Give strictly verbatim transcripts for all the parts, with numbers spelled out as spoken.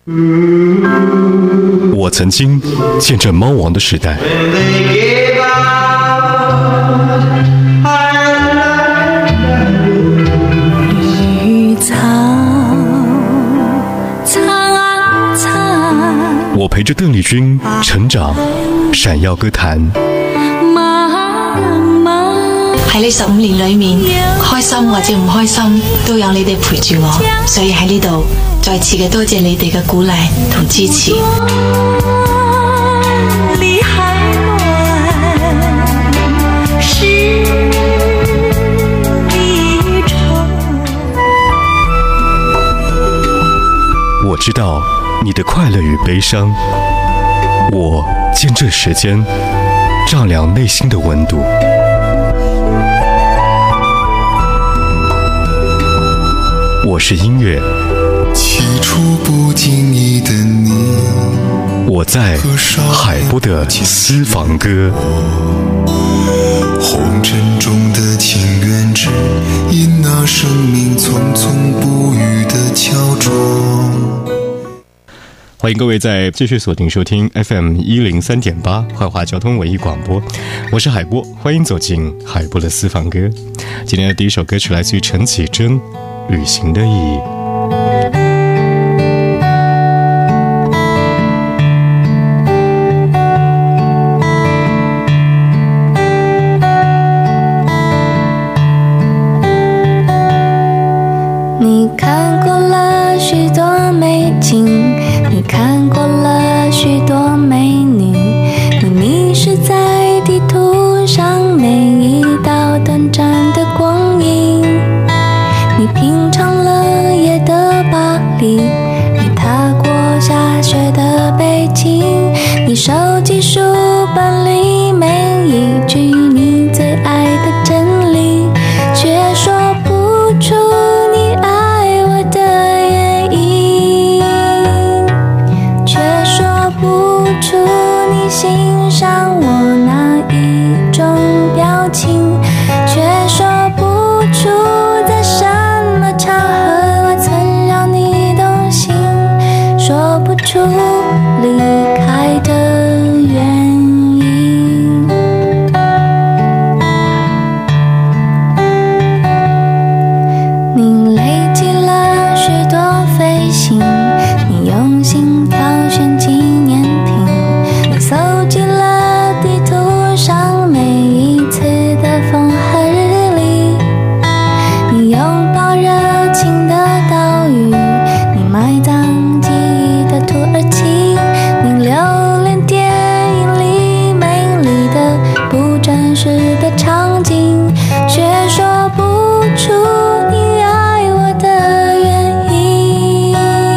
我曾经见证猫王的时代， 绿草苍苍， 我陪着邓丽君成长，闪耀歌坛。 喺呢十五年裏面，開心或者唔開心，都有你哋陪住我，所以喺呢度再次嘅多謝你哋嘅鼓勵同支持。 我知道你的快樂與悲傷，我見證時間丈量內心的溫度。我是音樂， 起初不經意的你， 我在海波的私房歌。 紅塵中的情緣，只因那生命匆匆不語的焦灼。 歡迎各位在繼續鎖定收聽 F M 一零三點八懷化交通文藝廣播，我是海波，歡迎走進海波的私房歌。今天的第一首歌曲來自於陳綺貞，旅行的意義。 你看過了許多美景，你看過了許多美女，你迷失在地圖上每一道短暫的光陰，你品嘗了夜的巴黎，你踏過下雪的北京，你收集書本裡每一句你最愛的真理，卻說不出你愛我的原因，卻說不出你欣賞我哪一種表情，卻說不出在什麼場合我曾讓你動心，說不出離開的原因。你累積了許多飛行，你用心挑選紀念品，你搜集了地圖上每一次的風和日麗，你擁抱熱情的島嶼，你埋葬記憶的土耳其，你留戀電影裡美麗的不真實的場景，卻說不出你愛我的原因，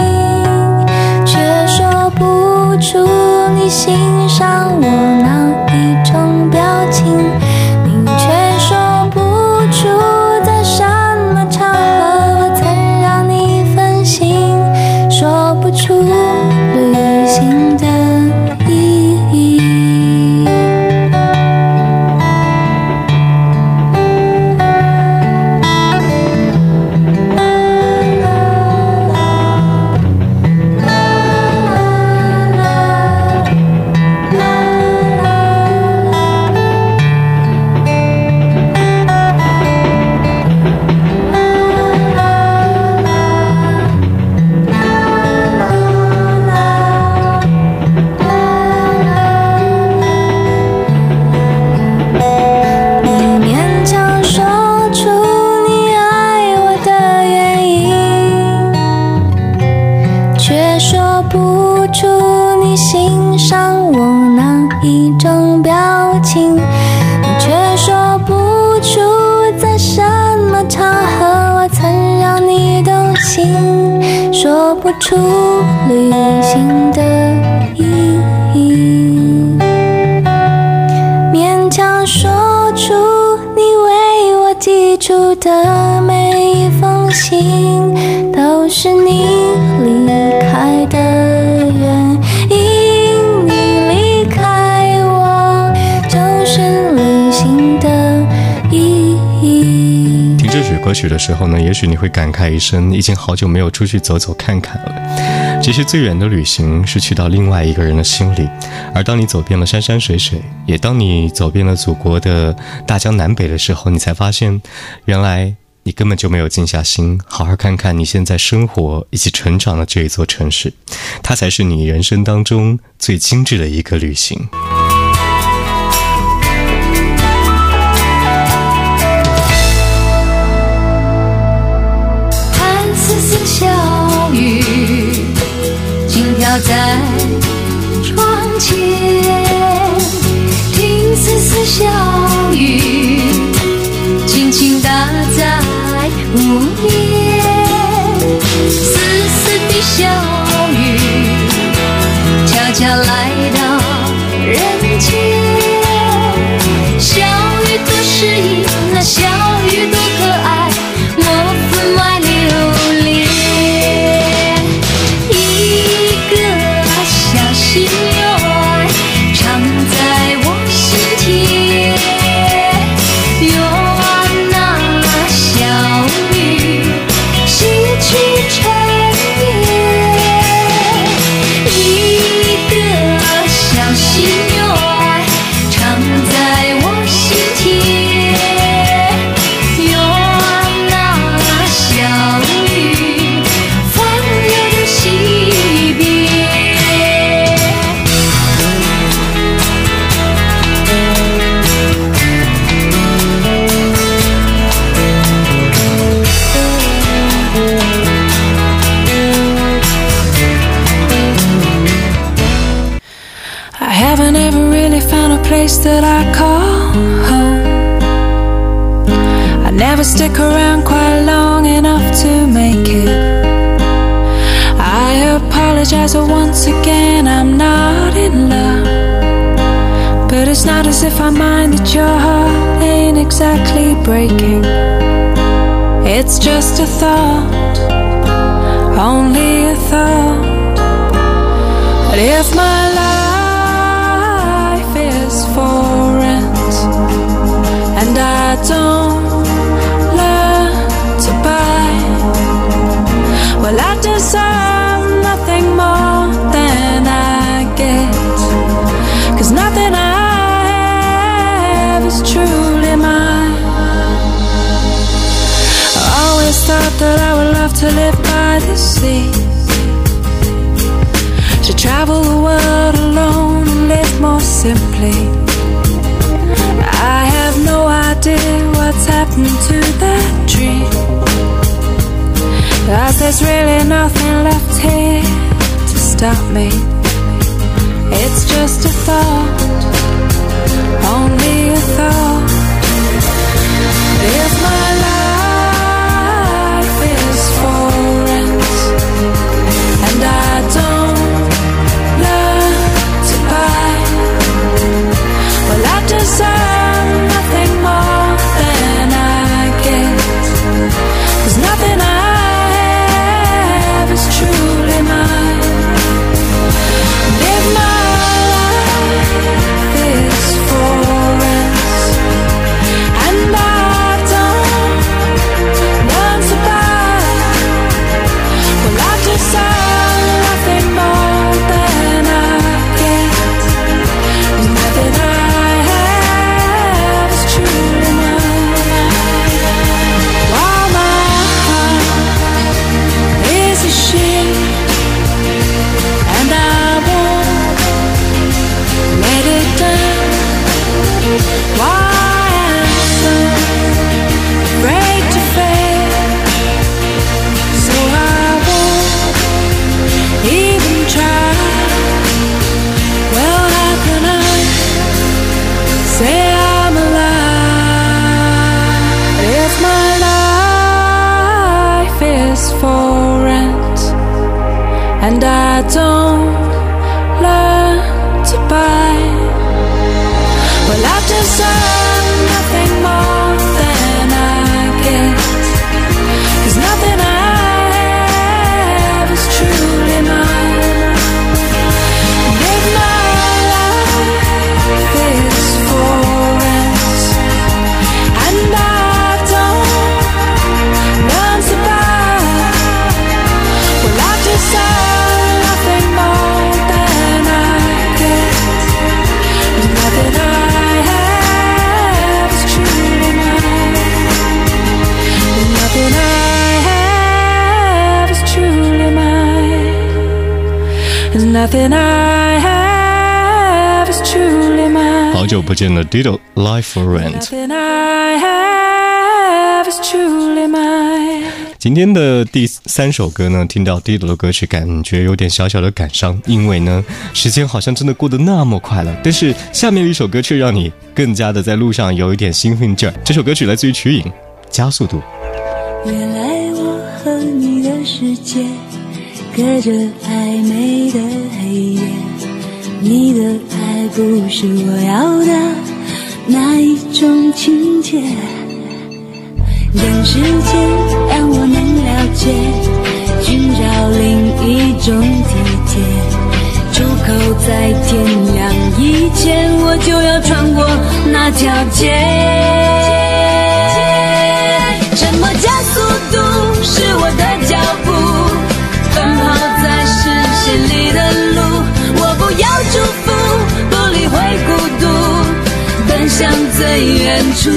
卻說不出你欣賞我哪一種表情，你卻說不出在什麼場合我曾讓你分心，說不出旅行的意義。你勉強說出你愛我的原因，卻說不出你欣賞我哪一種表情，你卻說不出在什麼場合我曾讓你動心，說不出旅行的意義，勉強說出你為我寄出的每一封信，都是你離開的原因，你離開我就是旅行的意義。 聽這首歌曲的時候呢，也許你會感慨一聲，已經好久沒有出去走走看看了。 其实最远的旅行是去到另外一个人的心里，而当你走遍了山山水水，也当你走遍了祖国的大江南北的时候，你才发现原来你根本就没有静下心好好看看你现在生活以及成长的这一座城市，它才是你人生当中最精致的一个旅行。 看丝丝小雨轻飘在窗前，听丝丝小雨轻轻打在屋檐，丝丝的小雨悄悄来到人间。小雨多诗意，那小雨多可爱，我分外留恋。一个小心愿藏在我心田，愿那小雨洗去尘烟。一个小心愿藏在我心田，愿那小雨放流的西边。I haven't ever really found a place that I call home. I never stick around quite long enough to make it. I apologize, but once again I'm not in love. But it's not as if I mind that your heart ain't exactly breaking. It's just a thought, only a thought. But if my life is for rent and I don't learn to buy, well, I deserve nothing more than I get, 'cause nothing I have is truly mine. I always thought that I would love to live by the sea, to travel the world alone and live more simply. I have no idea what's happened to that dream, 'cause there's really nothing left here to stop me. It's just a thought, only a thought. If my life is for rent and I don't learn to buy, well, I deserve nothing more than I get, 'cause nothing I have is truly mine. And if my life is for rent and I don't learn to buy, well, I deserve nothing more than I get, 'cause nothing I have is truly mine. While my heart is a ship and I won't let it down, why I'm so afraid to fail, so I won't even try. Well, how can I say I'm alive if my life is for rent and I don't learn to buy? Well, I deserve nothing more than I get, 'cause nothing I have is truly mine. And if my life is for rent and I don't learn to buy, well, I deserve Nothing I have is truly mine. 好久不见了 Dido Live for Rent。 Nothing I have is truly mine. 今天的第三首歌呢，听到 Dido 的歌曲，感觉有点小小的感伤，因为呢，时间好像真的过得那么快了。但是下面的一首歌却让你更加的在路上有一点兴奋劲儿。这首歌曲来自于瞿颖，《加速度》。 原来我和你的世界隔着暧昧的黑夜，你的爱不是我要的那一种情节，等时间让我能了解，寻找另一种体贴，出口在天亮以前，我就要穿过那条街。什么加速度是我的脚步，奔跑在视线里的路，我不要祝福，不理会孤独，奔向最远处。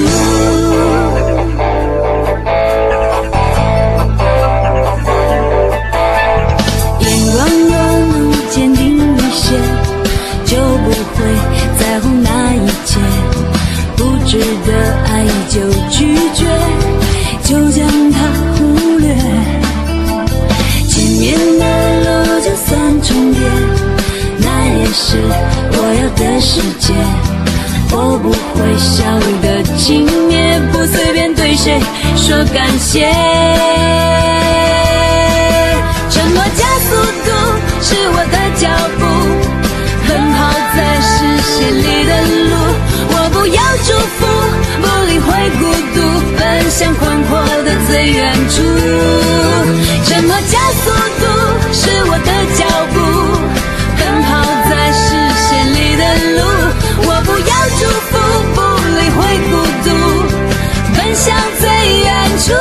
眼光若能坚定一些，就不会在乎那一切，不值得爱就拒绝，就将它忽略，前面的路就算重叠，那也是我要的世界，我不会笑得轻蔑，不随便对谁说感谢。承诺加速度是我的脚步，奔跑在视线里的路，我不要祝福，不理会孤独，奔向宽阔的最远处。什么加速度是我的脚步，奔跑在视线里的路，我不要祝福，不理会孤独，奔向最远处。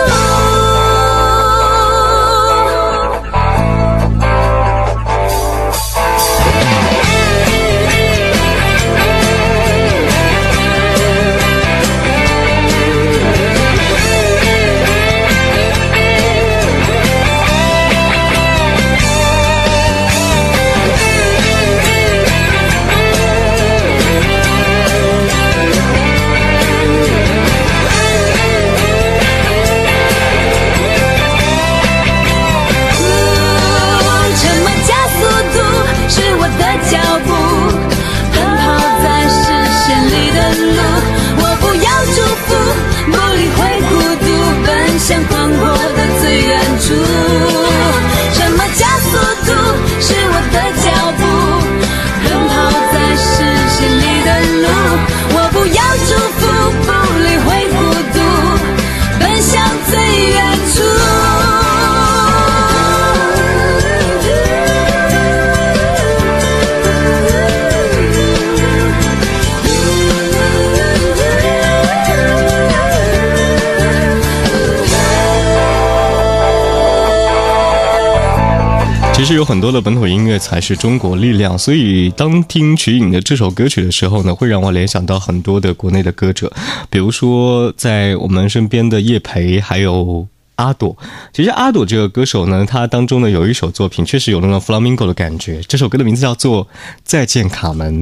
其实有很多的本土音乐才是中国力量，所以当听瞿颖的这首歌曲的时候呢，会让我联想到很多的国内的歌者，比如说在我们身边的叶培，还有阿朵。其实阿朵这个歌手呢，他当中呢有一首作品确实有那种 Flamingo 的感觉，这首歌的名字叫做《再见卡门》。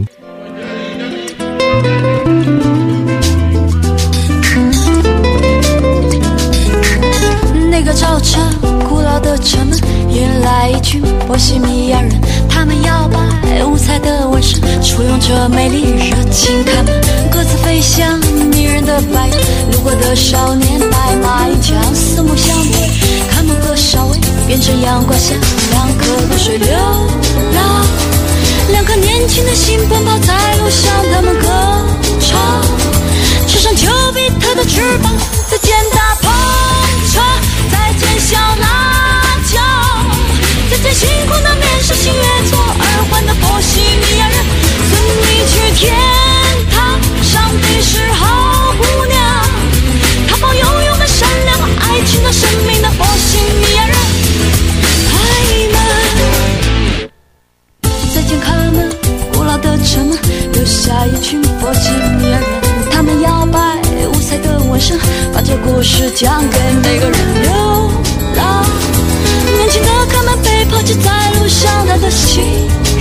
那个早晨，古老的城门迎来一群波西米亚人，他们摇摆五彩的纹身，簇拥着美丽热情开门，各自飞向迷人的白云。路过的少年白马银枪，四目相对，开门和稍微变成阳光下两颗露水流浪，两颗年轻的心奔跑在路上，他们歌唱，翅上丘比特的翅膀在肩大碰撞。再见小辣椒，再见辛苦的面试新月做耳环的波西米亚人，送你去天堂，上帝是好姑娘，她保有我们善良爱情的生命的波西米亚人。开门，再见开门，古老的城门留下一群波西米亚人，他们摇摆五彩的纹身，把这故事讲给每个人。流浪，年轻的卡门被抛弃在路上，他的心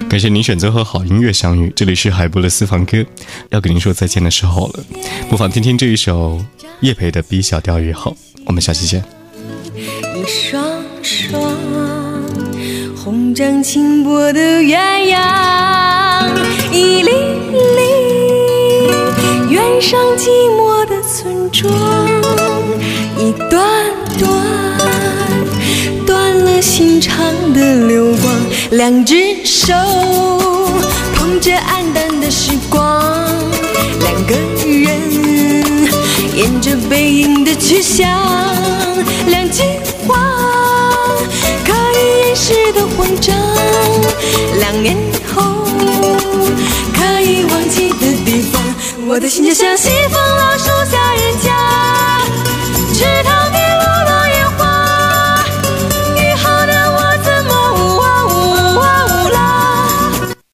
感谢您选择和好音乐相遇，这里是海波的私房歌，要跟您说再见的时候了，不妨听听这一首叶培的 B 小调也好，我们下期见。 一双双红掌轻拨的鸳鸯，一粒粒远上寂寞的村庄，一段段断了心肠的流光，两只手捧着黯淡的时光，两个人沿着背影的去向，两句话可以掩饰的慌张，两年后可以忘记的地方，我的心就像小